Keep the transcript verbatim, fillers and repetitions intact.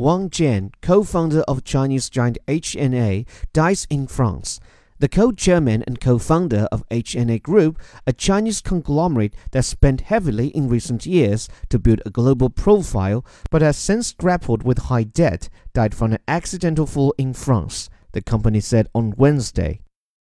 Wang Jian, co-founder of Chinese giant H and A, dies in France. The co-chairman and co-founder of H and A Group, a Chinese conglomerate that spent heavily in recent years to build a global profile but has since grappled with high debt, died from an accidental fall in France, the company said on Wednesday.